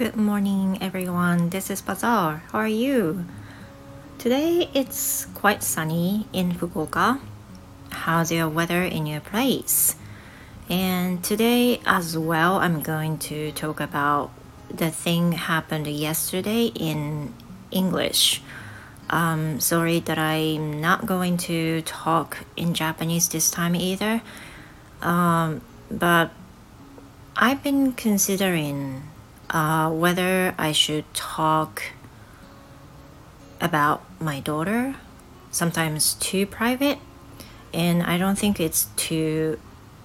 Good morning, everyone. This is Bazaar. How are you? Today it's quite sunny in Fukuoka. How's your weather in your place? And today as well, I'm going to talk about the thing happened yesterday in English. Sorry that I'm not going to talk in Japanese this time either. But I've been considering whether I should talk about my daughter, sometimes too private, and I don't think it's too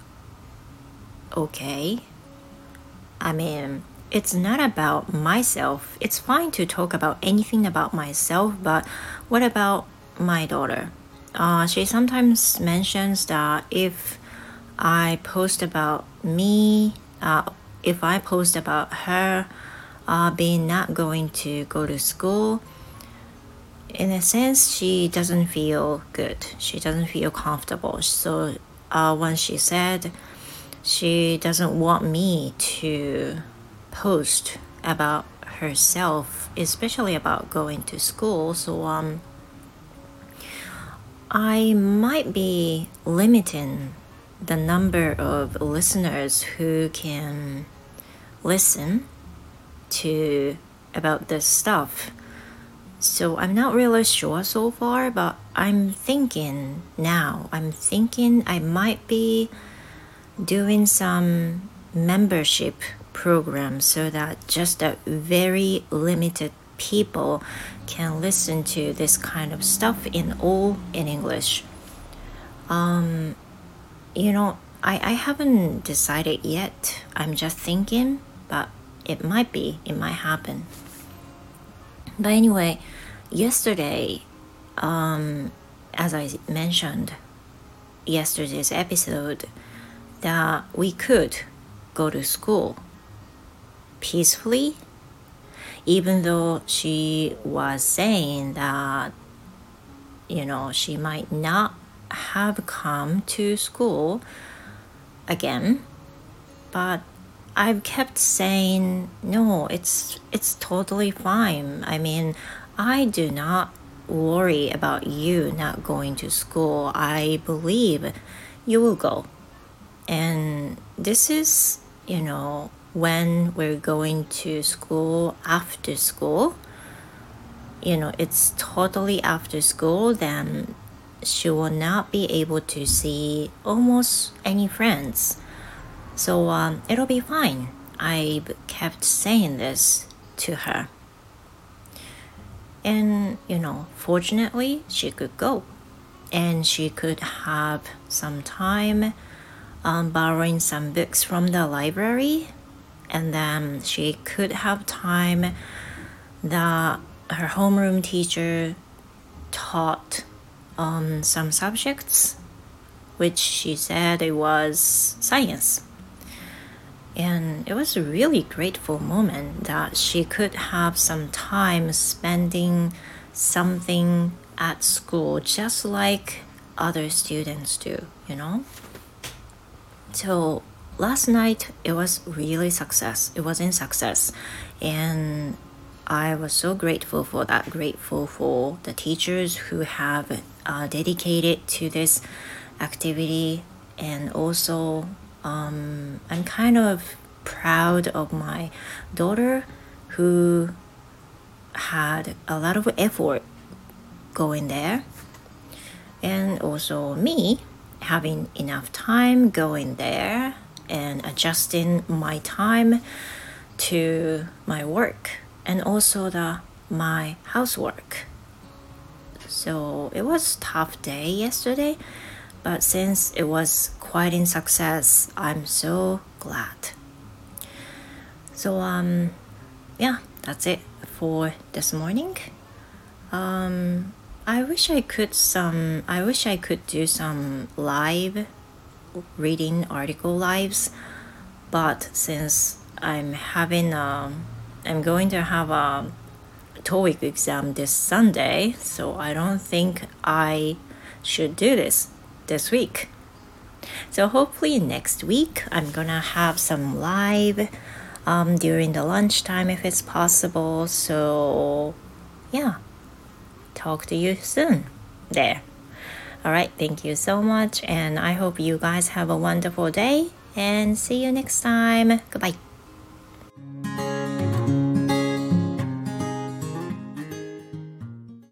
okay. I mean, it's not about myself. It's fine to talk about anything about myself, but what about my daughter? She sometimes mentions that if I post about me, if I post about her being not going to go to school, in a sense, she doesn't feel good. She doesn't feel comfortable. So when she said she doesn't want me to post about herself, especially about going to school, so I might be limiting the number of listeners who can listen to about this stuff. So I'm not really sure so far, but I'm thinking I might be doing some membership program so that just a very limited people can listen to this kind of stuff in English. I haven't decided yet. I'm just thinking, but it might happen. But anyway, yesterday, as I mentioned, yesterday's episode, that we could go to school peacefully, even though she was saying that, she might not have come to school again, but I've kept saying, no, it's totally fine. I mean, I do not worry about you not going to school. I believe you will go. And this is, when we're going to school after school, it's totally after school, then she will not be able to see almost any friends. So it'll be fine. I've kept saying this to her. And, fortunately, she could go. And she could have some time borrowing some books from the library. And then she could have time that her homeroom teacher taught some subjects, which she said it was science. And it was a really grateful moment that she could have some time spending something at school, just like other students do, So last night, it was really success. It was in success. And I was so grateful for that, grateful for the teachers who have dedicated to this activity. And also, I'm kind of proud of my daughter who had a lot of effort going there. And also me having enough time going there and adjusting my time to my work and also my housework. So it was a tough day yesterday, but since it was quite in success, I'm so glad. So that's it for this morning. I wish I could do some live reading article lives, but since I'm going to have a TOEIC exam this Sunday, so I don't think I should do this week. So hopefully next week I'm gonna have some live during the lunchtime if it's possible. So yeah, talk to you soon there. All right, thank you so much, and I hope you guys have a wonderful day, and see you next time. Goodbye.